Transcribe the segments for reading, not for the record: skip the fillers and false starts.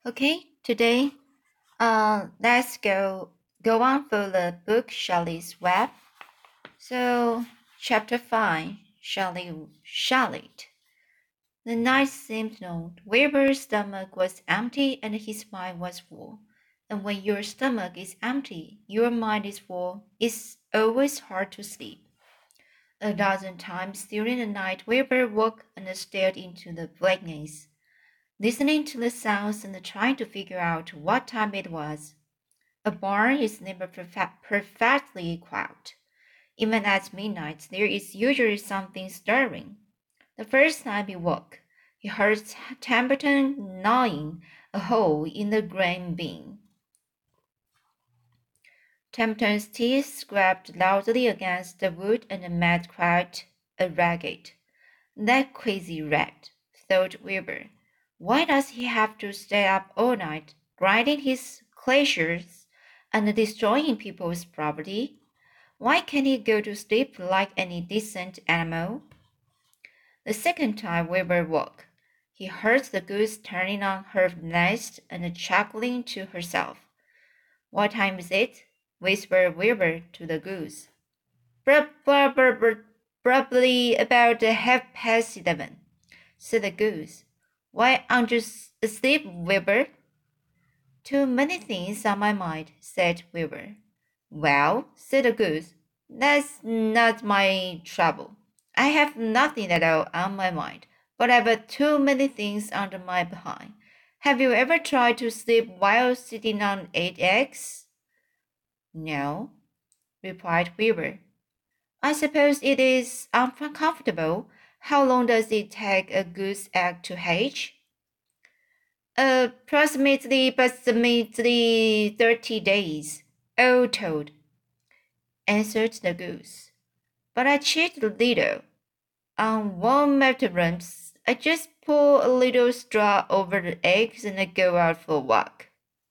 Okay, today, let's go on for the book Shelley's Web. So, chapter 5, Charlotte. The night seemed long. Wilbur's stomach was empty and his mind was full. And when your stomach is empty, your mind is full. It's always hard to sleep. A dozen times during the night, Wilbur woke and stared into the blackness, listening to the sounds and trying to figure out what time it was. A barn is never perfectly quiet. Even at midnight, there is usually something stirring. The first time he woke, he heard Templeton gnawing a hole in the grain bin. Templeton's teeth scraped loudly against the wood and made quite a racket. That crazy rat, thought Wilbur. Why does he have to stay up all night, grinding his glaciers and destroying people's property? Why can't he go to sleep like any decent animal? The second time Wilbur woke, he heard the goose turning on her nest and chuckling to herself. What time is it? Whispered Wilbur to the goose. Probably about 11:30, said the goose. Why aren't you asleep, Wilbur? Too many things on my mind, said Wilbur. Well, said the goose, that's not my trouble. I have nothing at all on my mind, but I've too many things under my behind. Have you ever tried to sleep while sitting on 8 eggs? No, replied Wilbur. I suppose it is uncomfortable. How long does it take a goose egg to hatch? Approximately 30 days, all told, answered the goose. But I cheat a little. On warm afternoons, I just pour a little straw over the eggs and I go out for a walk.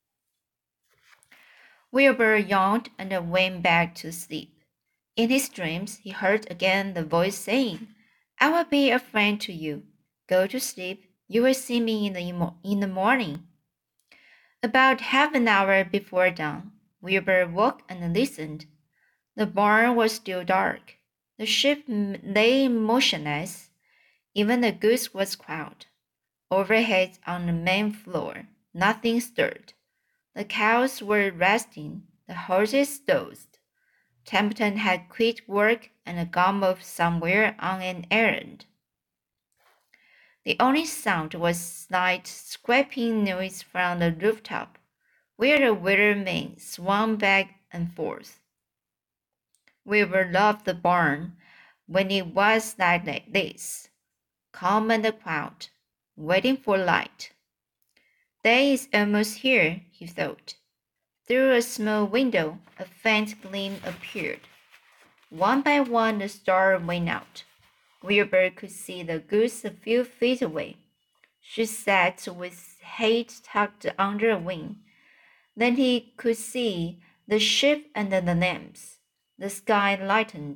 Wilbur yawned and went back to sleep. In his dreams, he heard again the voice saying, I will be a friend to you. Go to sleep. You will see me in the morning. About half an hour before dawn, Wilbur woke and listened. The barn was still dark. The sheep lay motionless. Even the goose was quiet. Overhead on the main floor, nothing stirred. The cows were resting, the horses dozed. Templeton had quit work and gone off somewhere on an errand. The only sound was slight scraping noise from the rooftop, where the waterman swung back and forth. Wilbur loved the barn when it was like this, calm and quiet, waiting for light. Day is almost here, he thought. Through a small window, a faint gleam appeared. One by one, the stars went out. Wilbur could see the goose a few feet away. She sat with head tucked under a wing. Then he could see the sheep and the lambs. The sky lightened.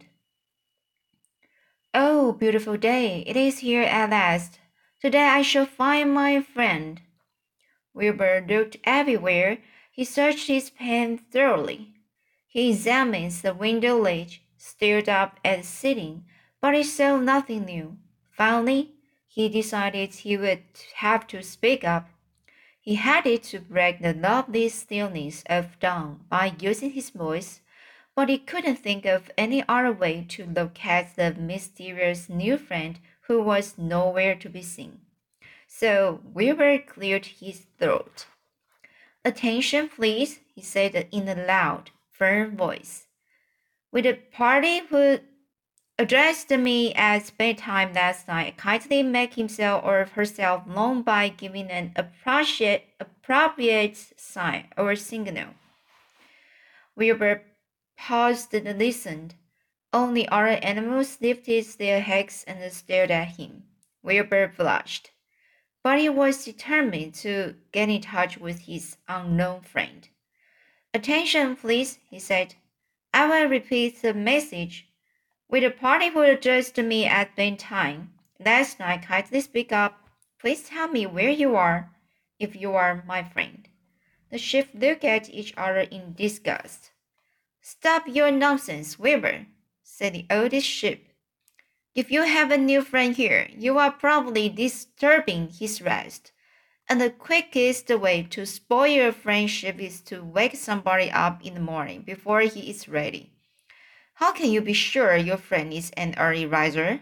Oh, beautiful day! It is here at last. Today I shall find my friend. Wilbur looked everywhere. He searched his pen thoroughly. He examined the window ledge, stared up at the ceiling, but he saw nothing new. Finally, he decided he would have to speak up. He hated to break the lovely stillness of dawn by using his voice, but he couldn't think of any other way to locate the mysterious new friend who was nowhere to be seen. So Wilbur cleared his throat. Attention, please, he said in a loud, firm voice. Will the party who addressed me at bedtime last night kindly make himself or herself known by giving an appropriate sign or signal? Wilbur paused and listened. Only other animals lifted their heads and stared at him. Wilbur blushed, but he was determined to get in touch with his unknown friend. Attention, please, he said. I will repeat the message. Will the party who addressed me at bedtime last night kindly speak up? Please tell me where you are. if you are my friend. The ship looked at each other in disgust. Stop your nonsense, Weaver, said the oldest ship. If you have a new friend here, you are probably disturbing his rest. And the quickest way to spoil a friendship is to wake somebody up in the morning before he is ready. How can you be sure your friend is an early riser?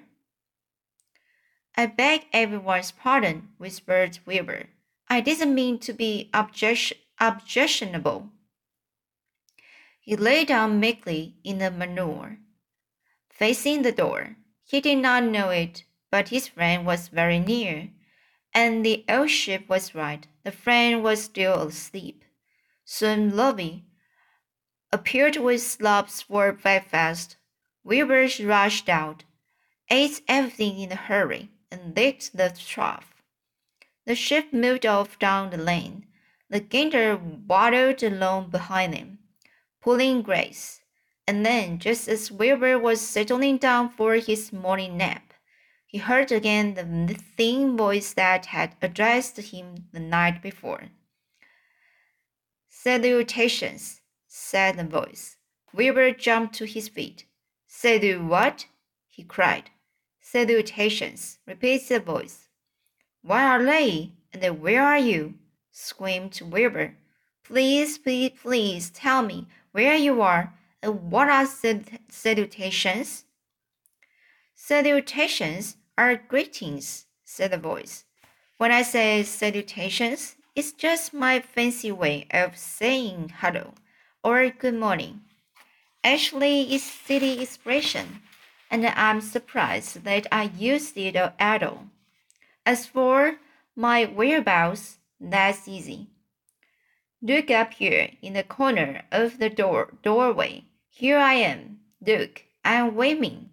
I beg everyone's pardon, whispered Weaver. I didn't mean to be objectionable. He lay down meekly in the manure, facing the door. He did not know it, but his friend was very near, and the old ship was right. The friend was still asleep. Soon Lovey appeared with slobs for breakfast. Weaver rushed out, ate everything in a hurry, and licked the trough. The ship moved off down the lane. The gander waddled along behind them, pulling Grace. And then, just as Wilbur was settling down for his morning nap, he heard again the thin voice that had addressed him the night before. Salutations, said the voice. Wilbur jumped to his feet. Salut what? He cried. Salutations, repeated the voice. What are they? And where are you? Screamed Wilbur. Please, please, please tell me where you are and what are salutations? Salutations are greetings, said the voice. When I say salutations, it's just my fancy way of saying hello or good morning. Actually, it's city expression, and I'm surprised that I used it at all. As for my whereabouts, that's easy. Look up here in the corner of the doorway. Here I am. Look, I'm waving.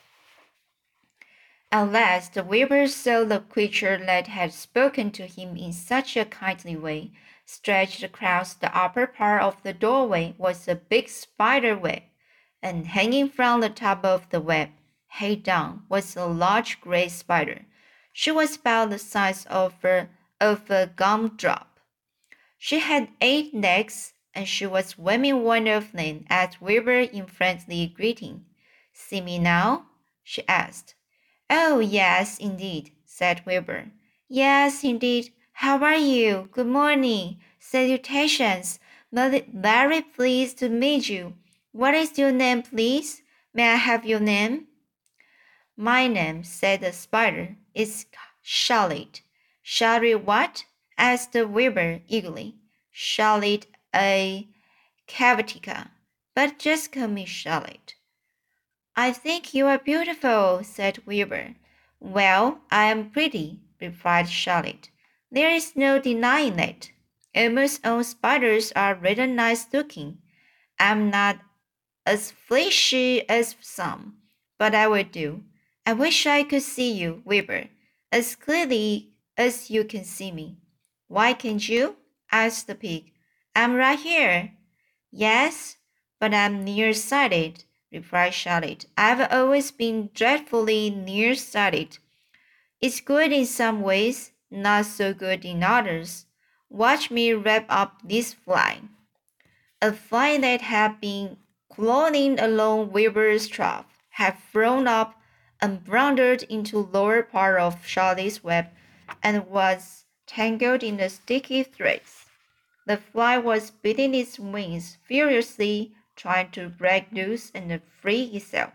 At last the weaver saw the creature that had spoken to him in such a kindly way. Stretched across the upper part of the doorway was a big spider web, and hanging from the top of the web, head down, was a large gray spider. She was about the size of a gumdrop. She had 8 legs, and she was waving one of them at Wilbur in friendly greeting. See me now? She asked. Oh, yes, indeed, said Wilbur. Yes, indeed. How are you? Good morning. Salutations. Very pleased to meet you. What is your name, please? May I have your name? My name, said the spider, is Charlotte. Charlotte what? Asked the Wilbur eagerly. Charlotte a Cavatica. But just call me Charlotte. I think you are beautiful, said Wilbur. Well, I am pretty, replied Charlotte. There is no denying it. Almost all spiders are rather nice looking. I'm not as fleshy as some, but I will do. I wish I could see you, Wilbur, as clearly as you can see me. Why can't you? Asked the pig. I'm right here. Yes, but I'm nearsighted, replied Charlotte. I've always been dreadfully nearsighted. It's good in some ways, not so good in others. Watch me wrap up this fly. A fly that had been crawling along Wilbur's trough had flown up and blundered into lower part of Charlotte's web and was tangled in the sticky threads. The fly was beating its wings furiously, trying to break loose and free itself.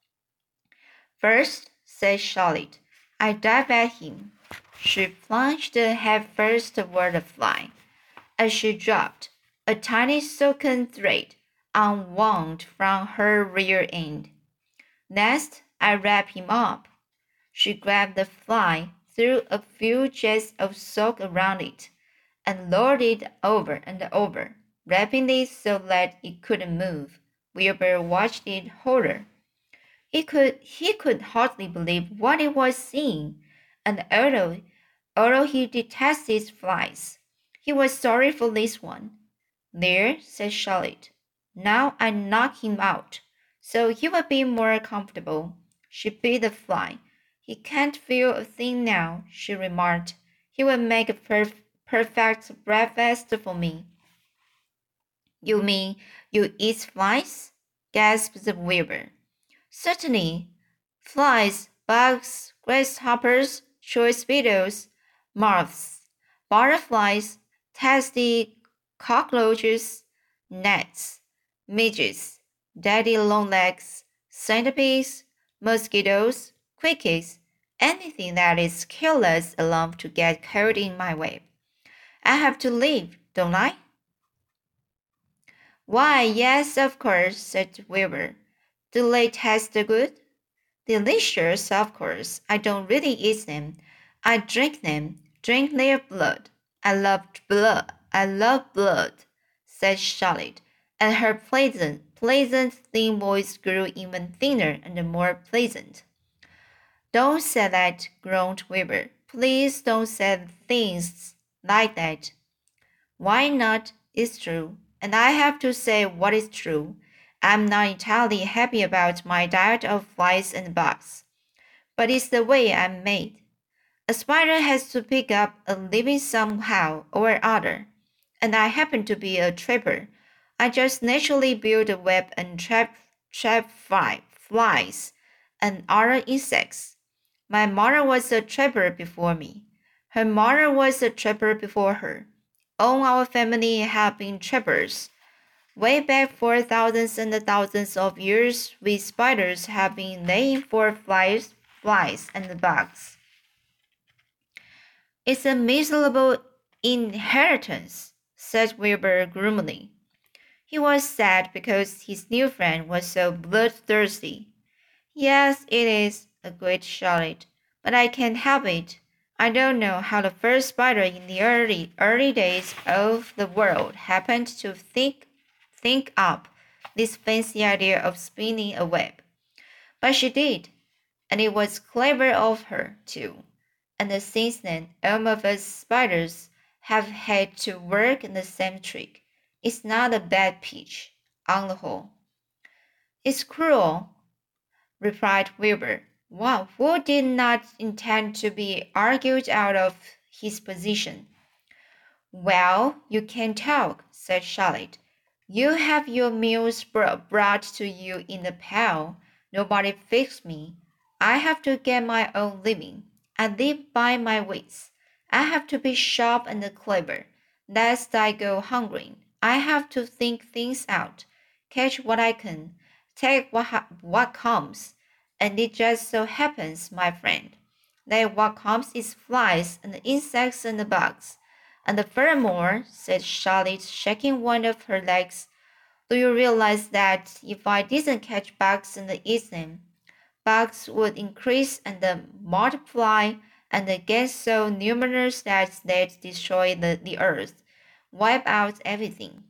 First, said Charlotte, I dive at him. She plunged headfirst toward the fly. As she dropped, a tiny silken thread unwound from her rear end. Next, I wrap him up. She grabbed the fly, threw a few jets of silk around it, and lowered it over and over, wrapping it so that it couldn't move. Wilbur watched it horror. He could hardly believe what he was seeing, and although he detested flies, he was sorry for this one. There, said Charlotte. Now I knock him out, so he will be more comfortable. She beat the fly. He can't feel a thing now, she remarked. He will make perfect breakfast for me. You mean you eat flies? Gasped the weaver. Certainly. Flies, bugs, grasshoppers, choice beetles, moths, butterflies, tasty cockroaches, gnats, midges, daddy longlegs, centipedes, mosquitoes, crickets, anything that is careless enough to get caught in my web. I have to leave, don't I? Why, yes, of course, said Weaver. Do they taste good? Delicious, of course. I don't really eat them. I drink them, drink their blood. I love blood. I love blood, said Charlotte, and her pleasant thin voice grew even thinner and more pleasant. Don't say that, groaned Weaver. Please don't say things like that. Why not? It's true. And I have to say what is true. I'm not entirely happy about my diet of flies and bugs. But it's the way I'm made. A spider has to pick up a living somehow or other. And I happen to be a trapper. I just naturally build a web and trap flies and other insects. My mother was a trapper before me. Her mother was a trapper before her. All our family have been trappers. Way back for thousands and thousands of years, we spiders have been laying for flies and bugs. It's a miserable inheritance, said Wilbur gloomily. He was sad because his new friend was so bloodthirsty. Yes, it is, agreed Charlotte, but I can't help it. I don't know how the first spider in the early days of the world happened to think up this fancy idea of spinning a web. But she did, and it was clever of her, too. And since then, all of us spiders have had to work in the same trick. It's not a bad pitch, on the whole. It's cruel, replied Wilbur. Wow, who did not intend to be argued out of his position. Well, you can talk, said Charlotte. You have your meals brought to you in a pail. Nobody feeds me. I have to get my own living. I live by my wits. I have to be sharp and clever, lest I go hungry. I have to think things out, catch what I can, take what comes. And it just so happens, my friend, that what comes is flies and insects and bugs. And furthermore, said Charlotte, shaking one of her legs, do you realize that if I didn't catch bugs and eat them, bugs would increase and multiply and get so numerous that they'd destroy the earth, wipe out everything?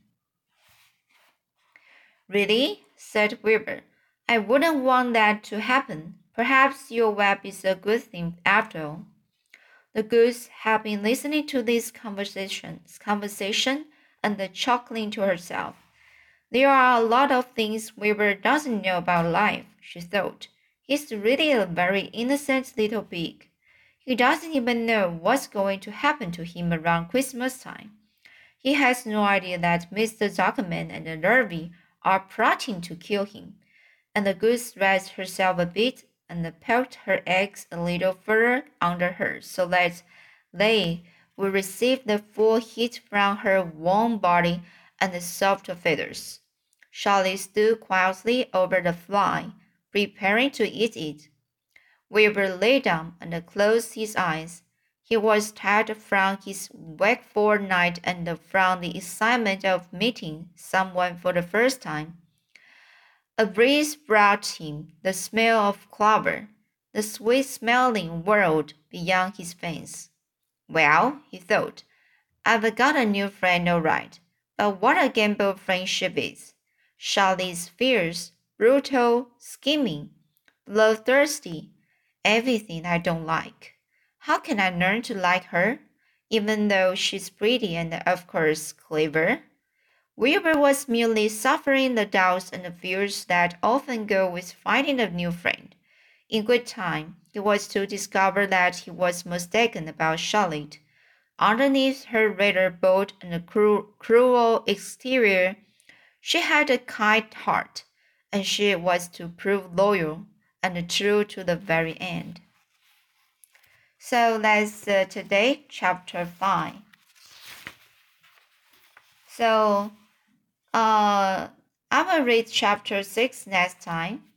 Really? Said Wilbur. I wouldn't want that to happen. Perhaps your web is a good thing after all. The goose had been listening to this conversation and chuckling to herself. There are a lot of things Wilbur doesn't know about life, she thought. He's really a very innocent little pig. He doesn't even know what's going to happen to him around Christmas time. He has no idea that Mr. Zuckerman and the Larvae are plotting to kill him. And the goose raised herself a bit and poked her eggs a little further under her so that they would receive the full heat from her warm body and the soft feathers. Charlie stood quietly over the fly, preparing to eat it. Wilbur lay down and closed his eyes. He was tired from his wakeful night and from the excitement of meeting someone for the first time. A breeze brought him the smell of clover, the sweet-smelling world beyond his fence. Well, he thought, I've got a new friend all right, but what a gamble friendship is. Charlie's fierce, brutal, scheming, bloodthirsty, everything I don't like. How can I learn to like her, even though she's pretty and of course clever? Wilbur was merely suffering the doubts and fears that often go with finding a new friend. In good time, he was to discover that he was mistaken about Charlotte. Underneath her rather bold and cruel exterior, she had a kind heart, and she was to prove loyal and true to the very end. So that's today, chapter 5. So I will read chapter 6 next time.